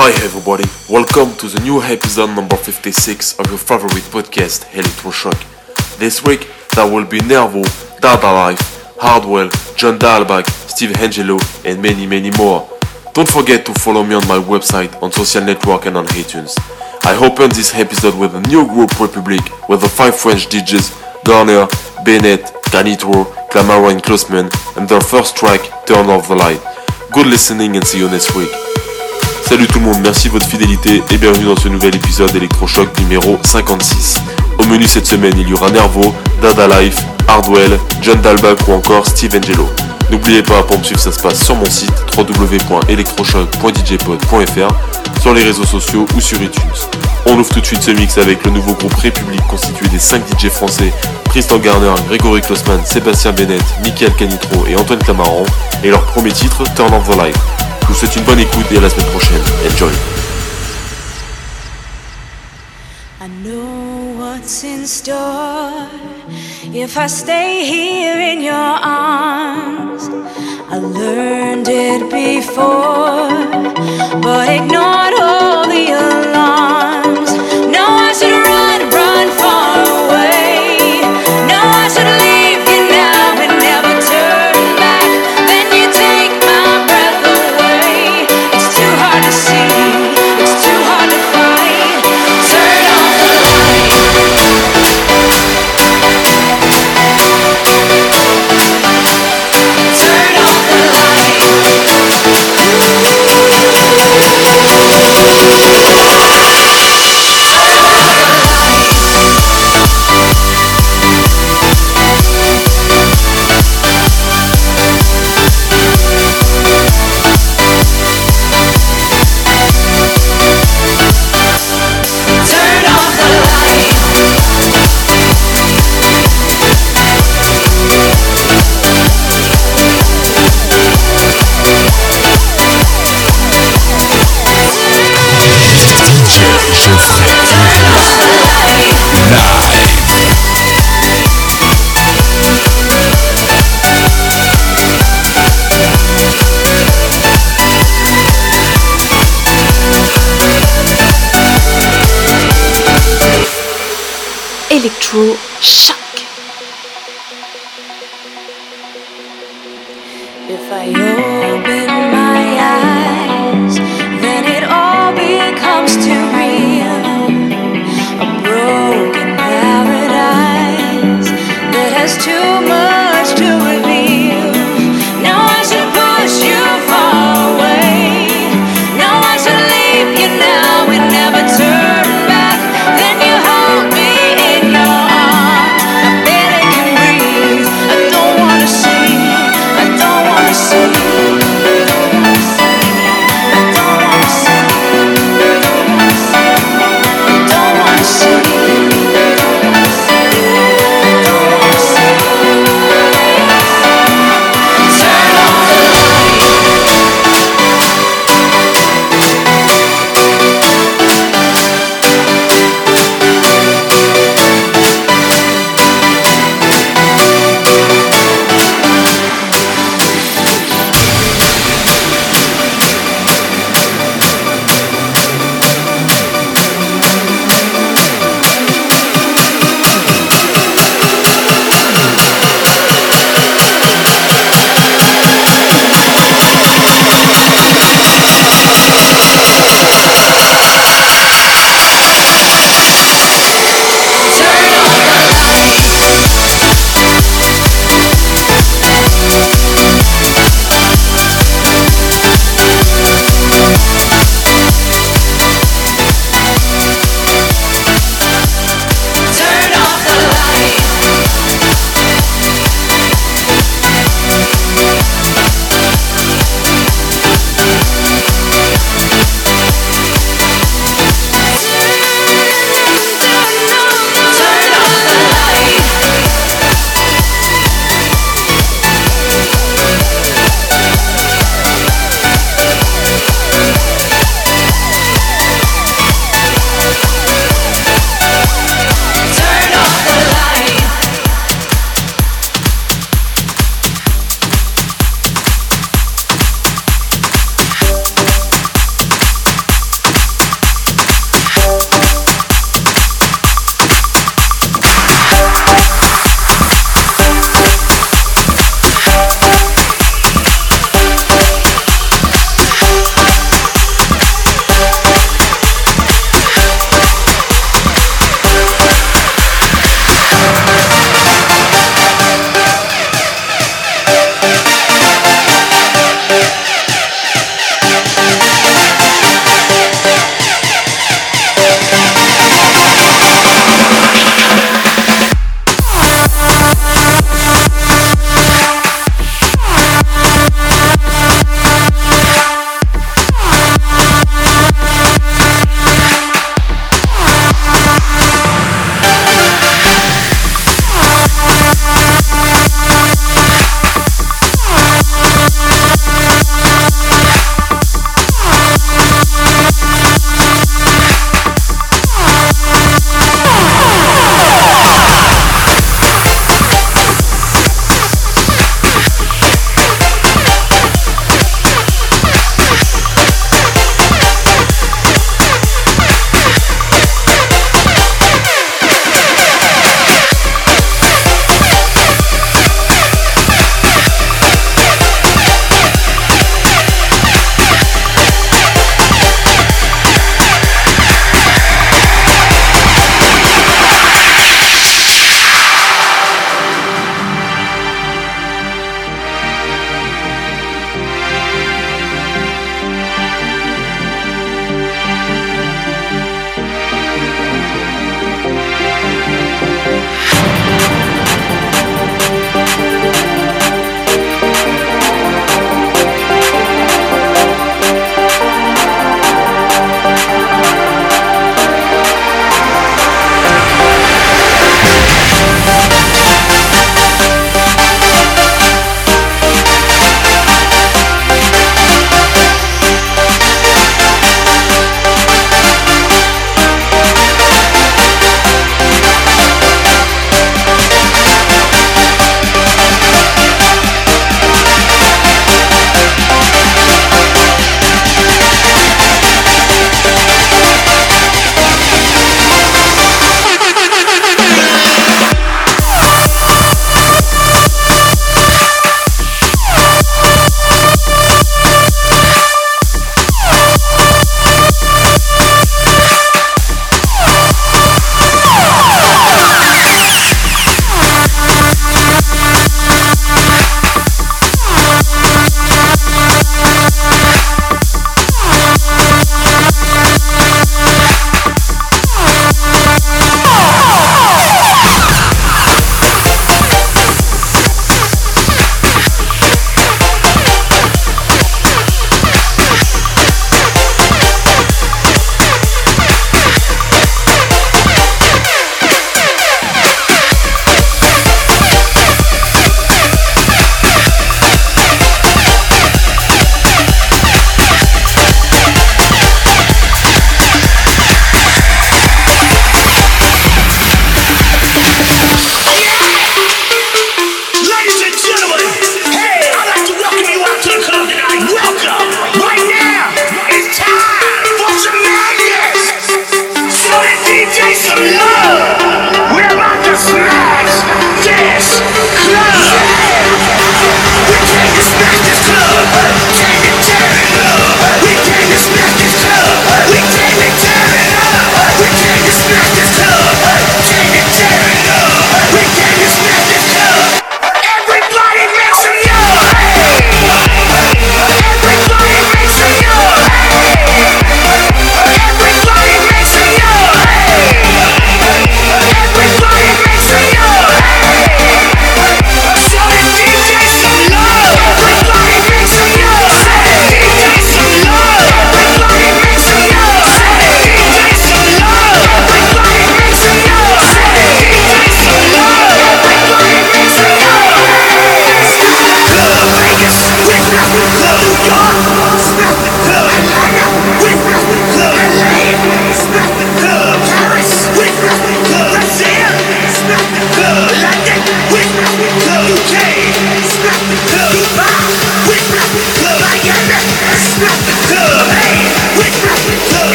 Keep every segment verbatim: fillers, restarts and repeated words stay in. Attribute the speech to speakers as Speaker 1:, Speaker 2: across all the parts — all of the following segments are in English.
Speaker 1: Hi everybody, welcome to the new episode number fifty-six of your favorite podcast, Electroshock. This week, there will be Nervo, Dada Life, Hardwell, John Dahlbach, Steve Angelo, and many many more. Don't forget to follow me on my website, on social network and on iTunes. I opened this episode with a new group Republic, with the five French D Js, Garner, Bennett, Canitro, Clamaro and Klossman, and their first track, Turn Off the Light. Good listening and see you next week. Salut tout le monde, merci de votre fidélité et bienvenue dans ce nouvel épisode Electroshock numéro cinquante-six. Au menu cette semaine, il y aura Nervo, Dada Life, Hardwell, John Dahlbach ou encore Steve Angelo. N'oubliez pas, pour me suivre, ça se passe sur mon site w w w point electroshock point d j pod point f r, sur les réseaux sociaux ou sur iTunes. On ouvre tout de suite ce mix avec le nouveau groupe République constitué des cinq D J français, Tristan Garner, Grégory Klossman, Sébastien Bennett, Michael Canitro et Antoine Clamaran, et leur premier titre, Turn Off the Light. Je vous souhaite une bonne écoute et à la semaine prochaine. Enjoy.
Speaker 2: I know what's in store if I stay here in your arms. I learned it before, but ignored all the alarms. No, I should run, run far away. No, I should leave you now and never turn back. Then you take my breath away. It's too hard to see, it's too hard to fight. Turn off the light. Turn off the light. Turn off the light.
Speaker 3: Electro Shock.
Speaker 2: If I open my eyes, then it all becomes too real. A broken paradise that has too much to reveal. Now I should push you far away. Now I should leave you now and never turn back. Then you hold me in your arms.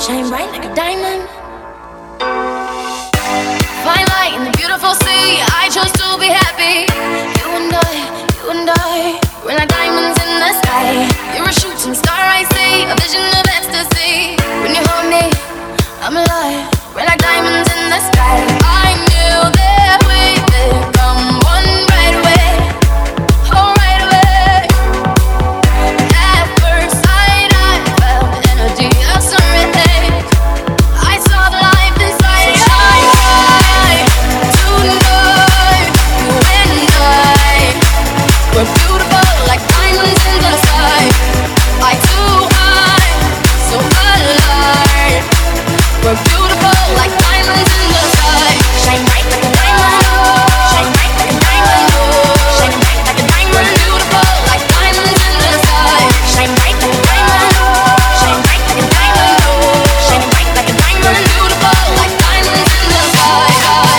Speaker 2: shine bright like a diamond. Fine light in the beautiful sea, I chose to be happy. You and I, you and I, we're like diamonds in the sky. You're a shooting star, I see, a vision of ecstasy. When you hold me, I'm alive. We're like diamonds in the sky. I knew that we would come one right away. Oh, right away. At first sight, I felt the energy of sun rays. I saw the life inside. So shine bright tonight. You and I, we're beautiful like diamonds in the sky. I too high, so alive. We're beautiful like diamonds in the sky. Shine bright like a diamond. Shine bright like a diamond. Shine bright like a diamond. We're beautiful like diamonds in the sky. Shine bright like a diamond. Shine bright like a diamond. Shine bright like a diamond. We're beautiful like diamonds in the sky.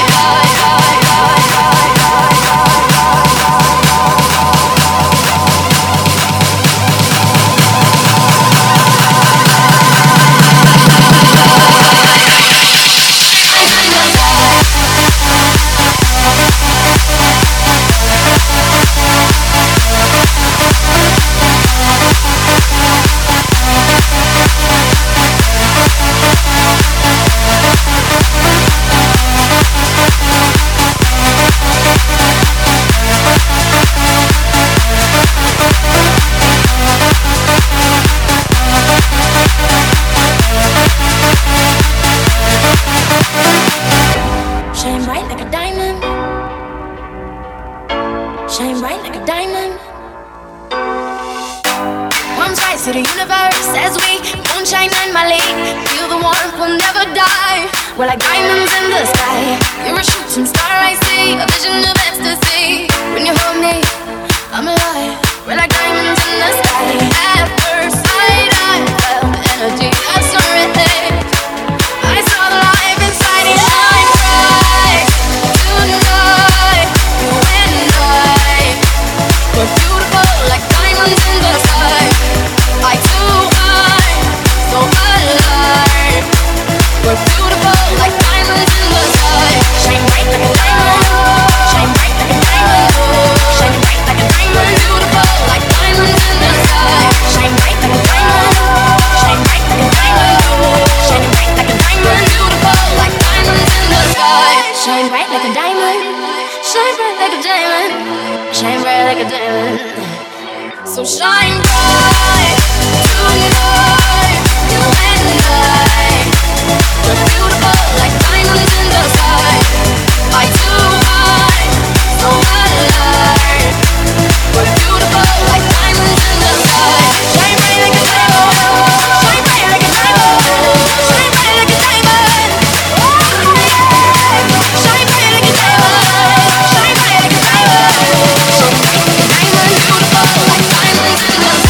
Speaker 2: Shine bright like a diamond. Shine bright like a diamond. Palms rise to the universe as we moonshine and Mali. Feel the warmth, we'll never die. We're like diamonds in the sky. You're a shooting star, I see, a vision of ecstasy. When you hold me, I'm alive. We're like diamonds in the sky. At first sight, I felt the energy of sun rays. I saw the life inside you. Shine bright tonight. You and I, we're beautiful like diamonds in the sky. I too high, so alive. We're beautiful like diamonds in the sky. Shine bright like a diamond. Shine bright like a diamond. Shine bright like a diamond. We're beautiful like diamonds in the sky. Shine bright like a diamond. Shine bright like a diamond. Shine bright like a diamond. We're beautiful like diamonds in the sky. Shine bright like a diamond. Shine bright like a diamond. Shine bright like a diamond. So shine bright tonight. You and I, we're beautiful like diamonds in the sky. I too high, so alive. We're beautiful like diamonds in the sky. Shine bright like a diamond. Shine bright like a diamond. Shine bright like a diamond. Shine bright like a diamond. Shine bright like a diamond. Shine bright like a diamond. Beautiful like diamonds in the sky.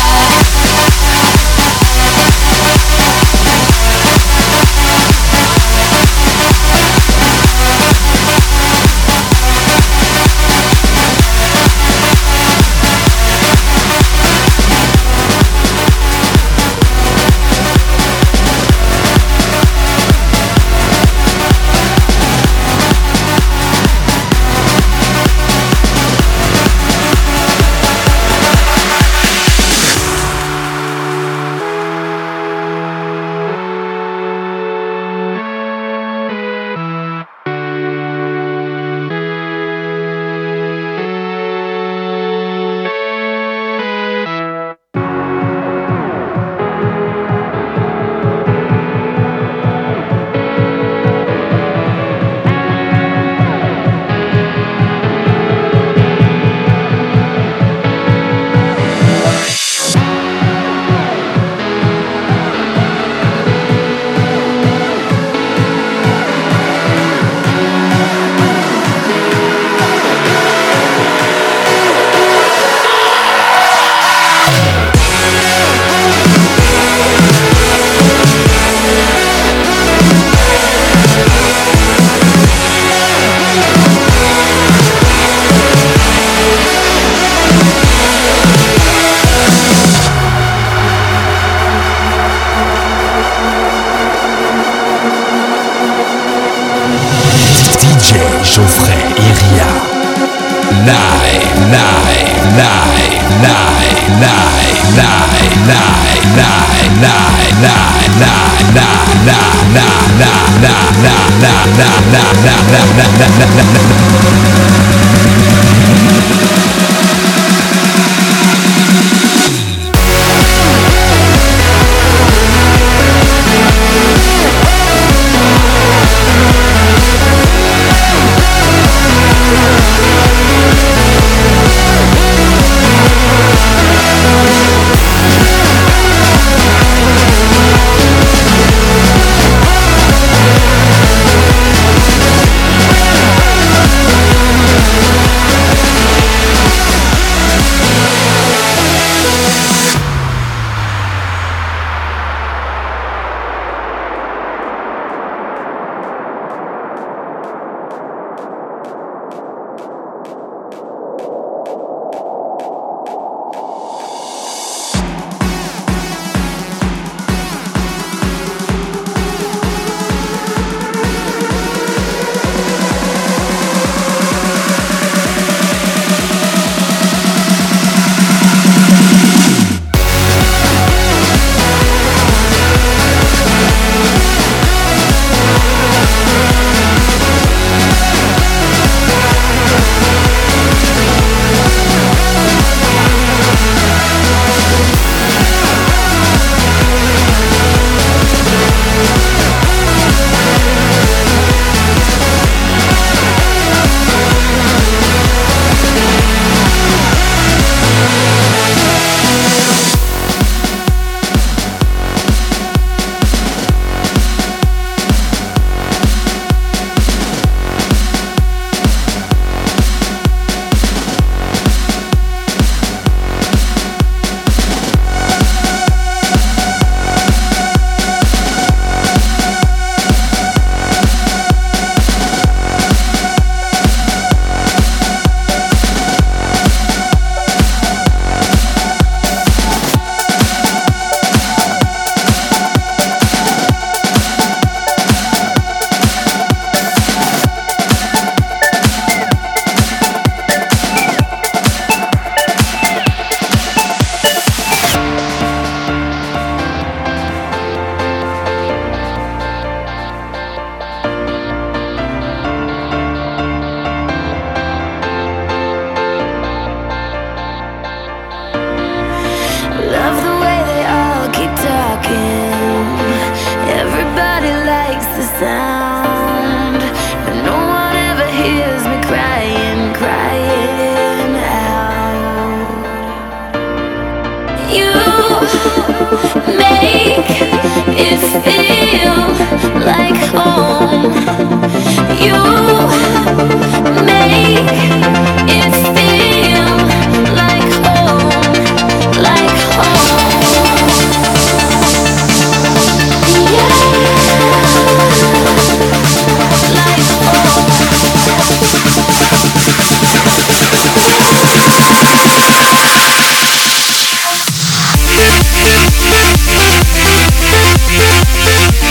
Speaker 4: We'll be right back.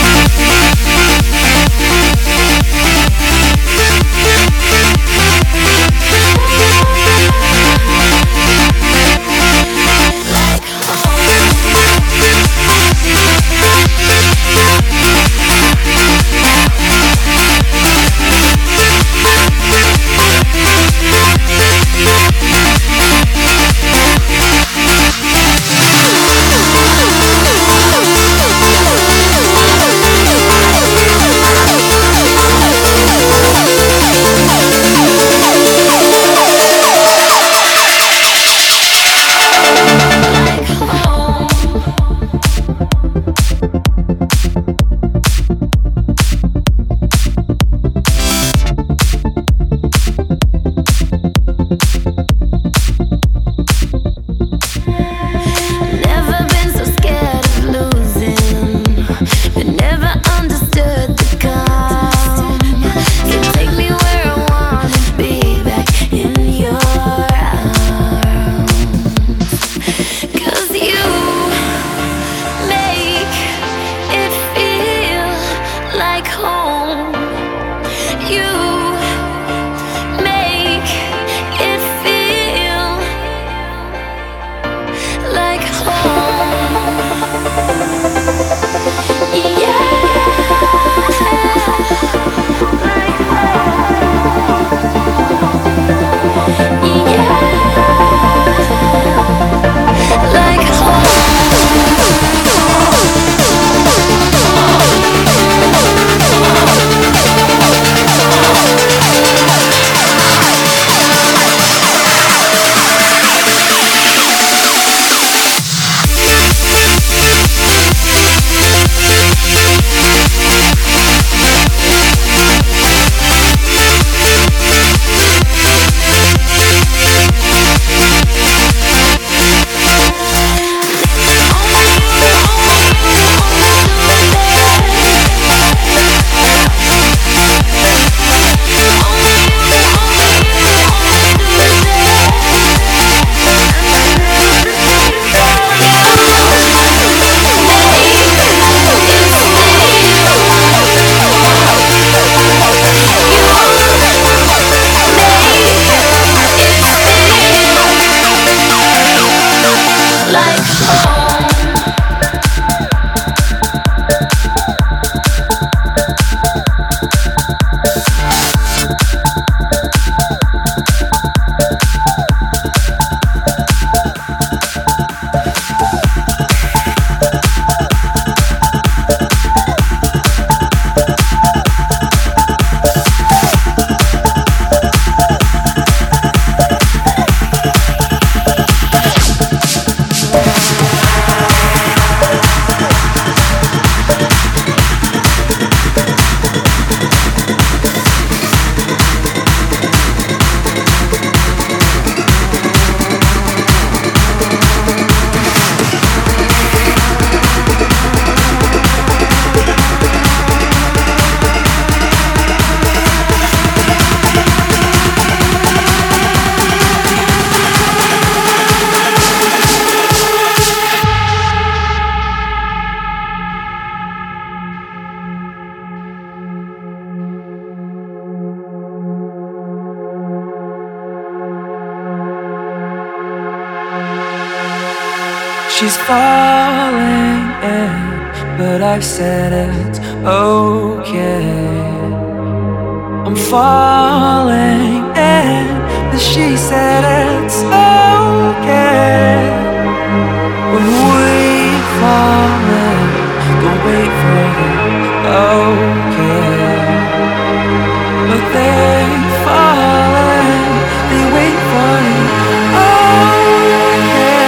Speaker 4: She's falling in, but I've said it's okay. I'm falling in, but she said it's okay. When we fall in, don't wait for the okay. But they fall in, they wait for the okay.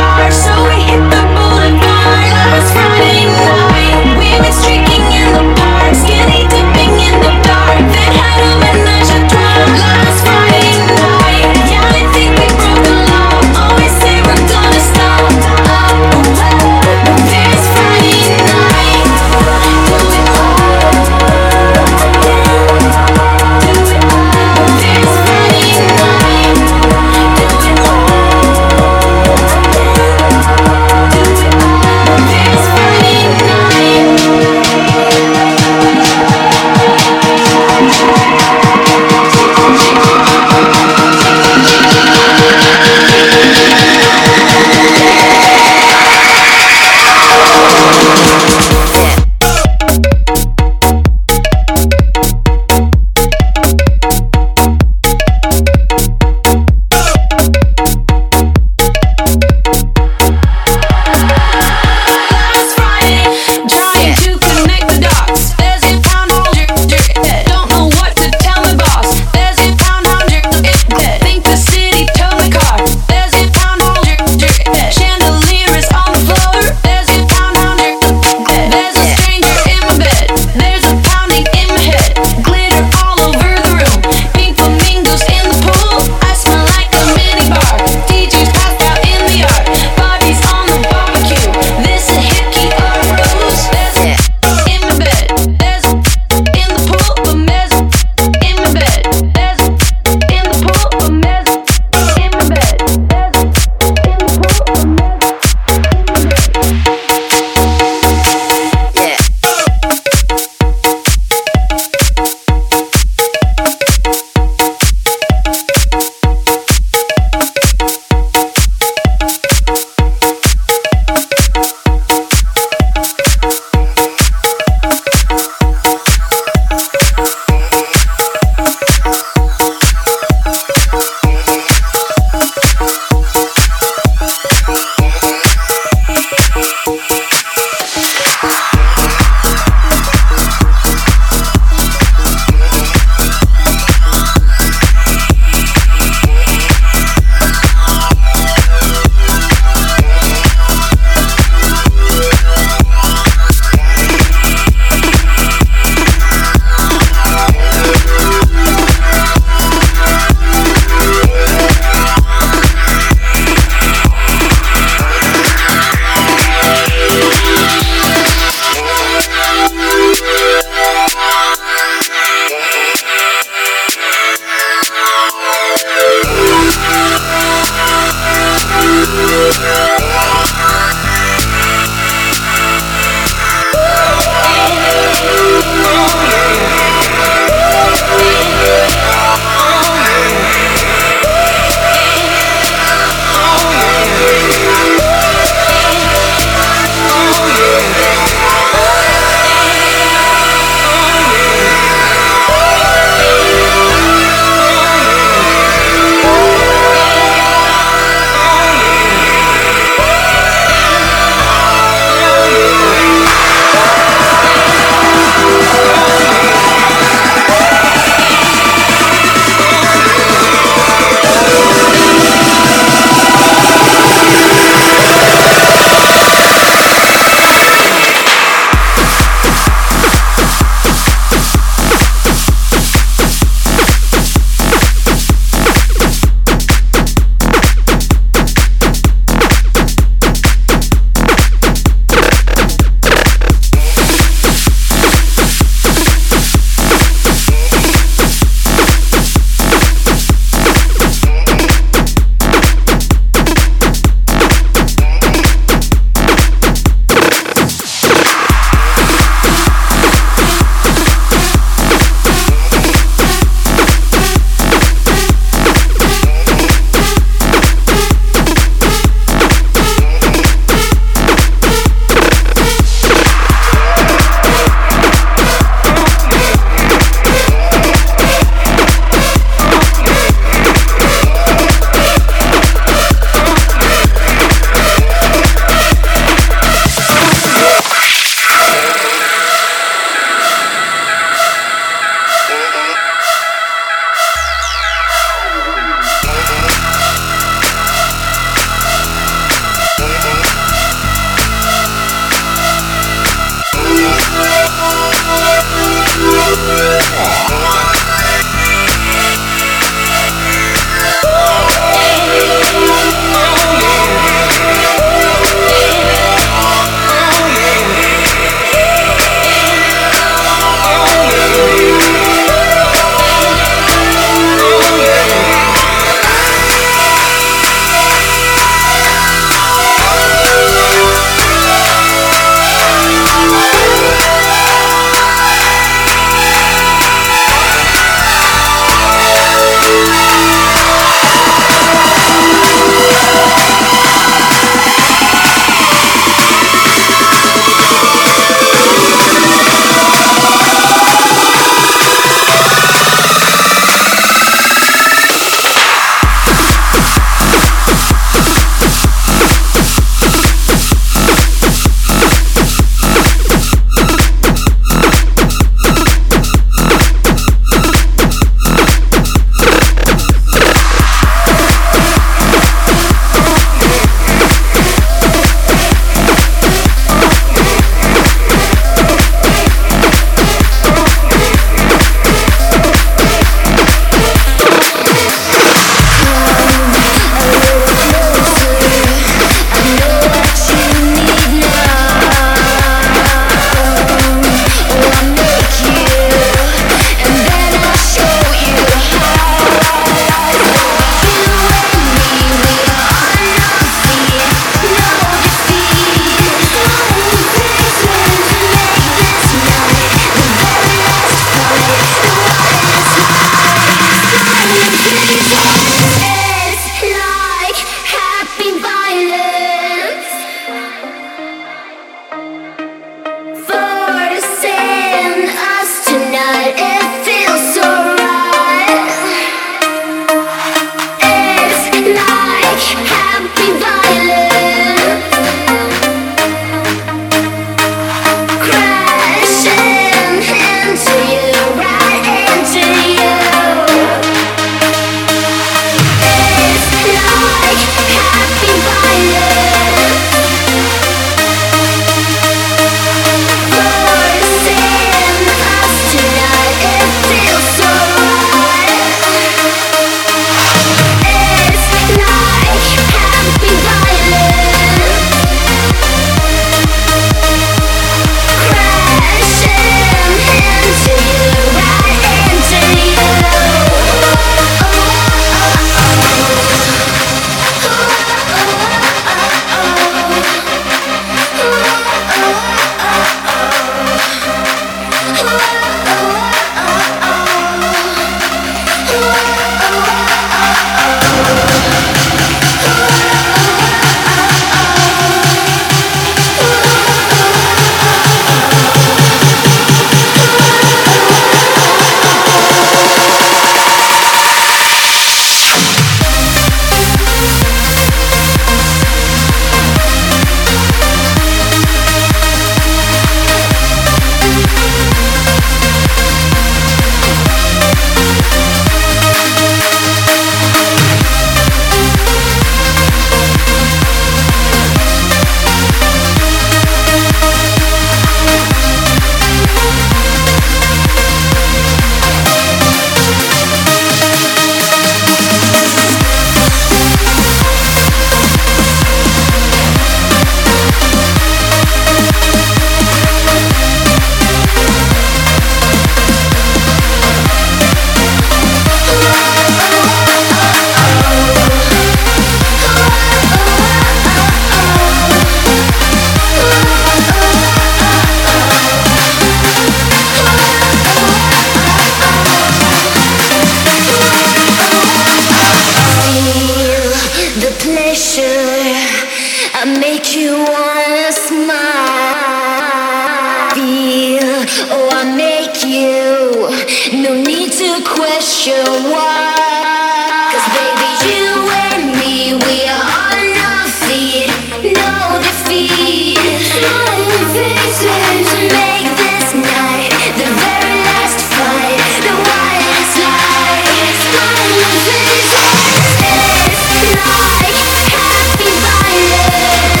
Speaker 5: need to question why. 'Cause baby, you and me, we are on our feet, no defeat. Smiling faces make this night the very last fight, the wildest light. Smiling faces, it's like happy violence.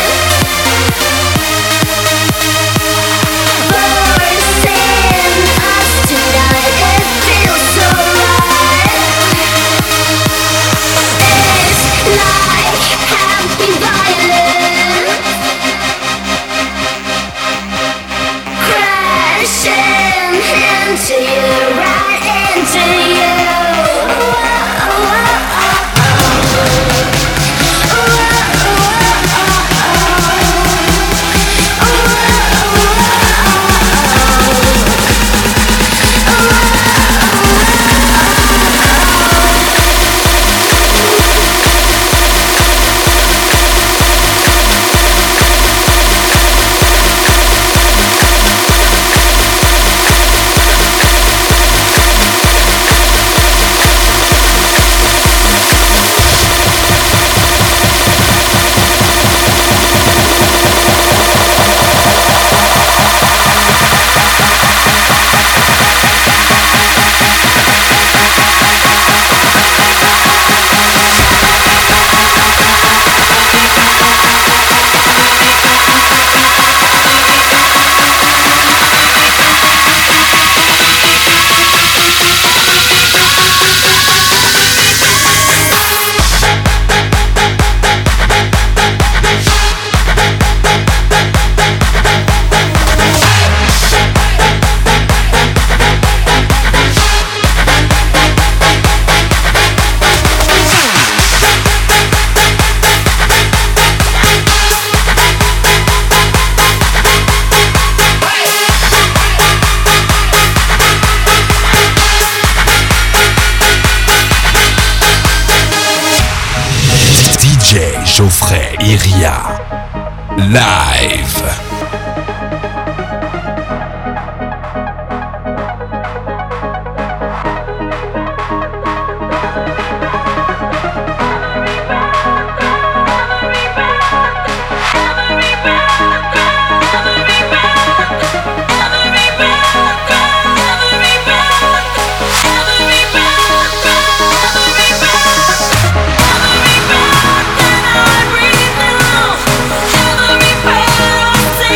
Speaker 5: Forcing us tonight, it feels so right. It's like happy violence. Crashing into you, right into you. Whoa, whoa,
Speaker 6: Geoffrey Iria live.
Speaker 5: Every breath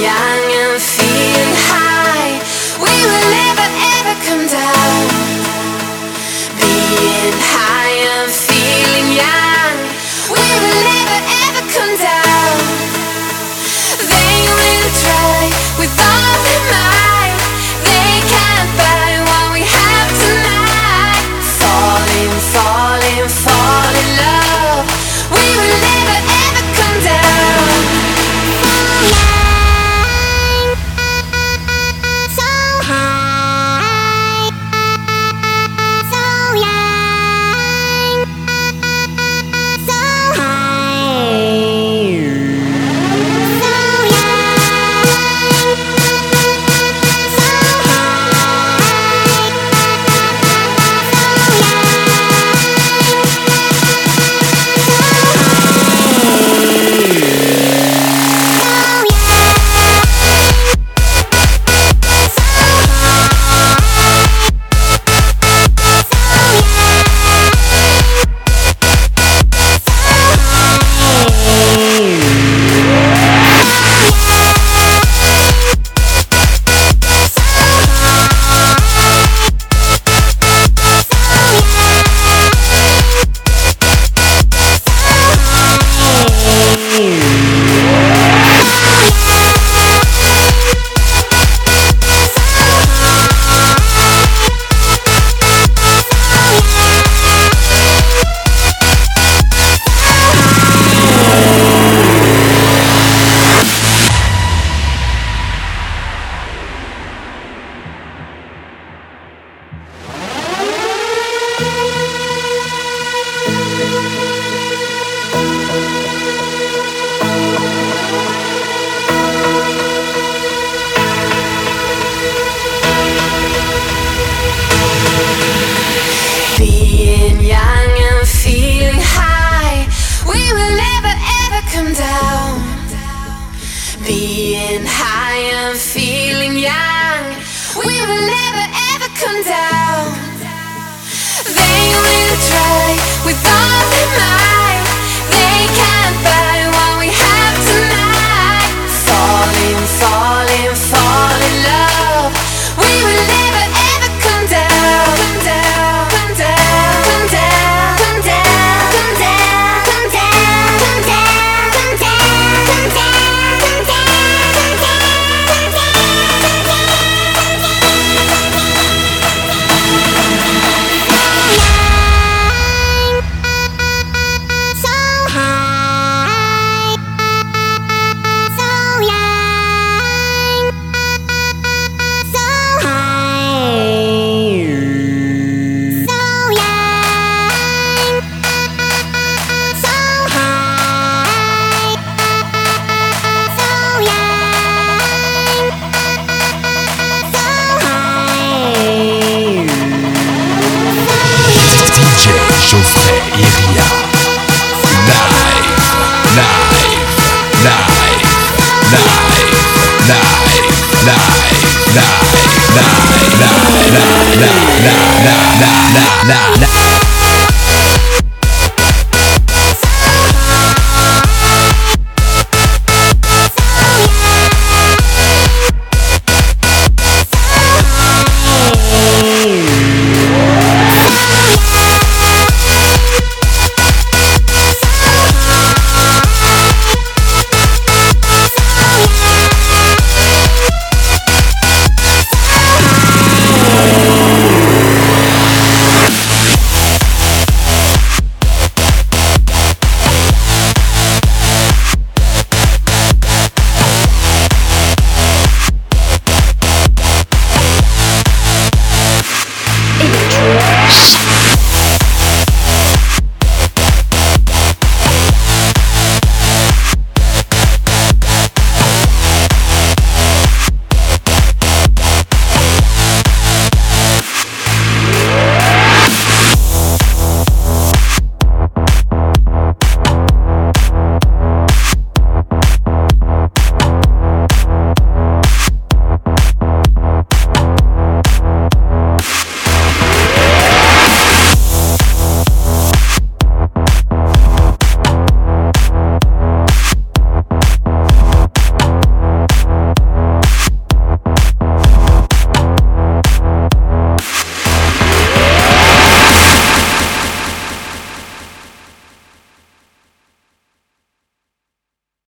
Speaker 2: young and feeling high, we will never ever come down. Being high and feeling young, we will never ever come down. They will try with all their might, they can't buy what we have tonight. Falling, falling, fall in love, we will never ever come down. So high, so young, so high, so young, so being young and feeling high, we will never ever come down. Being high and feeling young, we will never ever come down. They will try with all their might, they can't buy what we have tonight. Falling, falling, fall in love, we will never ever come down. Come down, come down, come down, come down, come down, come down, come down, come down, come down, come so high, so young, so high, so young, so high, so young, so high.
Speaker 6: D J Geoffrey Iria. Live, live, live, live, live, live, live, live, live, live, live, live, live, live, live, live, live.